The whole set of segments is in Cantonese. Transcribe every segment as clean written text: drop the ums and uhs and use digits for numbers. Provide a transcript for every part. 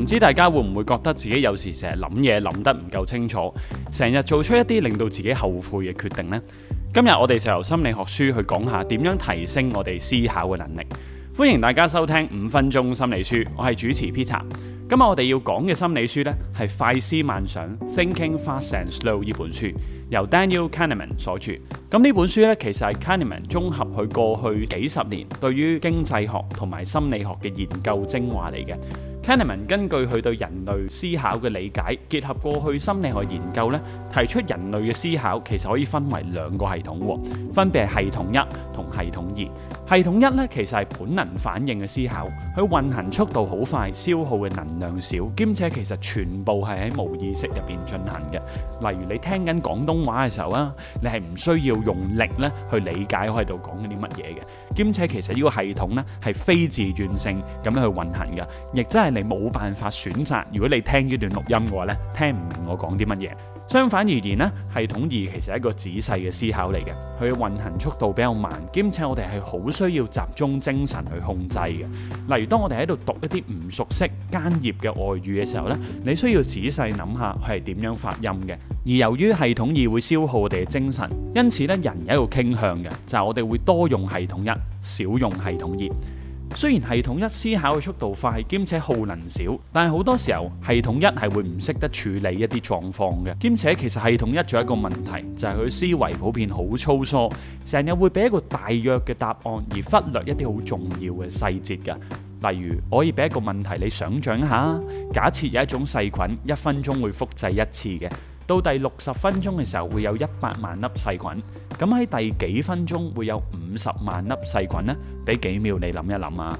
唔知大家會唔會覺得自己有時成日諗嘢諗得唔夠清楚，成日做出一啲令到自己後悔嘅決定呢？今日我哋就由心理學書去講下點樣提升我哋思考嘅能力。歡迎大家收聽5分鐘心理書，我係主持 Peter。今日我哋要講嘅心理書呢，係《快思慢想 Thinking Fast and Slow》呢本書，由 Daniel Kahneman 所著。咁呢本書呢，其實係 Kahneman 綜合佢過去幾十年對於經濟學同埋心理學嘅研究精華嚟嘅。Kahneman 根據佢對人類思考嘅理解，結合過去心理學研究咧，提出人類嘅思考其實可以分為兩個系統，分別係系統一同系統二。系統一咧，其實係本能反應嘅思考，佢運行速度好快，消耗嘅能量少，兼且其實全部係喺無意識入邊進行嘅。例如你聽緊廣東話嘅時候啊，你係唔需要用力咧去理解我喺度講緊啲乜嘢嘅，兼且其實呢個系統咧係非自願性咁樣去運行嘅，亦真係你冇辦法選擇。如果你聽呢段錄音嘅話咧，聽唔明我講啲乜嘢。相反而言咧，系統二其實係一個仔細嘅思考嚟嘅，佢嘅運行速度比較慢，兼且我哋係好需要集中精神去控制嘅。例如當我哋喺度讀一啲唔熟悉艱澀嘅外語嘅時候咧，你需要仔細諗下佢係點樣發音嘅。而由於系統二會消耗我哋嘅精神，因此咧人有一個傾向嘅，就係我哋會多用系統一，少用系統二。雖然系統一思考嘅速度快，兼且耗能少，但係好多時候系統一係會唔識得處理一啲狀況嘅，兼且其實系統一仲有一個問題，就係佢思維普遍好粗疏，成日會俾一個大約嘅答案，而忽略一啲好重要嘅細節㗎。例如，我可以俾一個問題你想像一下，假設有一種細菌1分鐘會複製一次嘅，到第60分鐘嘅時候會有100萬粒細菌，咁喺第幾分鐘會有50萬粒細菌呢？俾幾秒你諗一諗啊！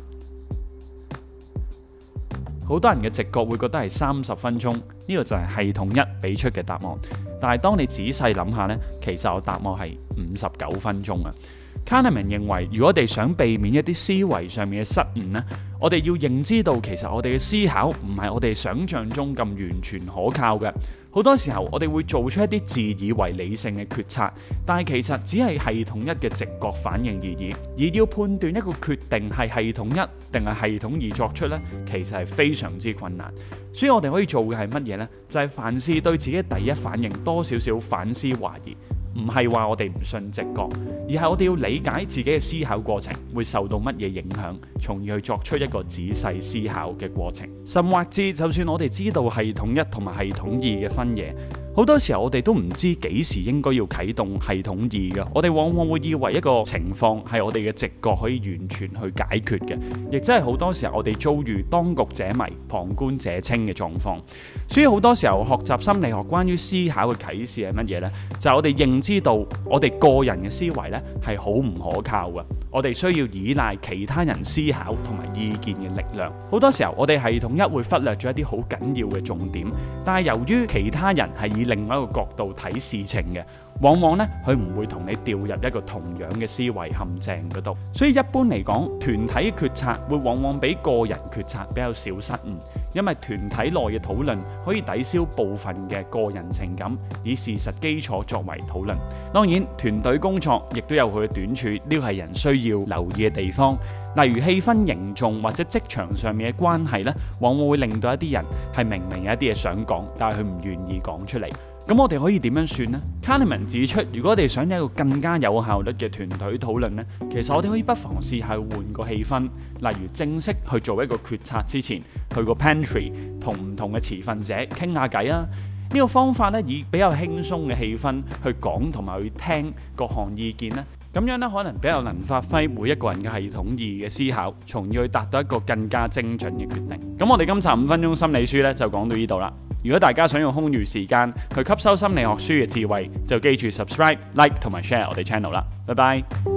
好多人嘅直覺會覺得係30分鐘，呢個就係系統一俾出嘅答案。但係當你仔細諗下呢，其實我答案係59分鐘啊。Kahneman 認為，如果我哋想避免一啲思維上面嘅失誤呢，我哋要認知到其實我哋嘅思考唔係我哋想象中咁完全可靠嘅。好多時候我哋會做出一啲自以為理性嘅決策，但係其實只係系統一嘅直覺反應而已。而要判斷一個決定係系統一定係系統二作出呢，其實係非常之困難。所以我哋可以做嘅係乜嘢呢？就係凡事對自己第一反應多少少反思懷疑。唔係話我哋唔信直覺，而係我哋要理解自己嘅思考過程會受到乜嘢影響，從而去作出一個仔細思考嘅過程。甚或至就算我哋知道系統一同埋系統二嘅分野，好多時候我哋都唔知幾時應該要啟動系統二嘅。我哋往往會以為一個情況係我哋嘅直覺可以完全去解決嘅，亦真係好多時候我哋遭遇當局者迷、旁觀者清嘅狀況。所以好多時候學習心理學關於思考嘅啟示係乜嘢呢？就係我哋認知到我哋個人嘅思維呢係好唔可靠嘅，我哋需要依賴其他人思考同埋意見嘅力量。好多時候我哋系統一會忽略咗一啲好緊要嘅重點，但係由於其他人係以另外一個角度睇事情嘅，往往呢佢唔會同你掉入一個同樣嘅思維陷阱嗰度。所以一般嚟講，團體決策會往往比個人決策比較少失誤，因為團體內嘅討論可以抵消部分嘅個人情感，以事實基礎作為討論。當然，團隊工作亦都有佢嘅短處，呢個係人需要留意嘅地方。例如氣氛凝重或者職場上面嘅關係呢，往往會令到一啲人係明明有一啲嘢想講，但係佢唔願意講出嚟。咁我哋可以點樣算呢？ Kahneman 指出，如果我哋想有一個更加有效率嘅團隊討論呢，其實我哋可以不妨試下換個氣氛，例如正式去做一個決策之前，去個 pantry 同唔同嘅持份者傾下偈啊。呢個方法咧，以比較輕鬆嘅氣氛去講同埋去聽各項意見咧，咁樣咧可能比較能發揮每一個人嘅系統二嘅思考，從而去達到一個更加精準嘅決定。咁我哋今集5分鐘心理書咧就講到呢度啦。如果大家想用空餘時間去吸收心理學書嘅智慧，就記住 subscribe、like 同埋 share 我哋 channel 啦。拜拜。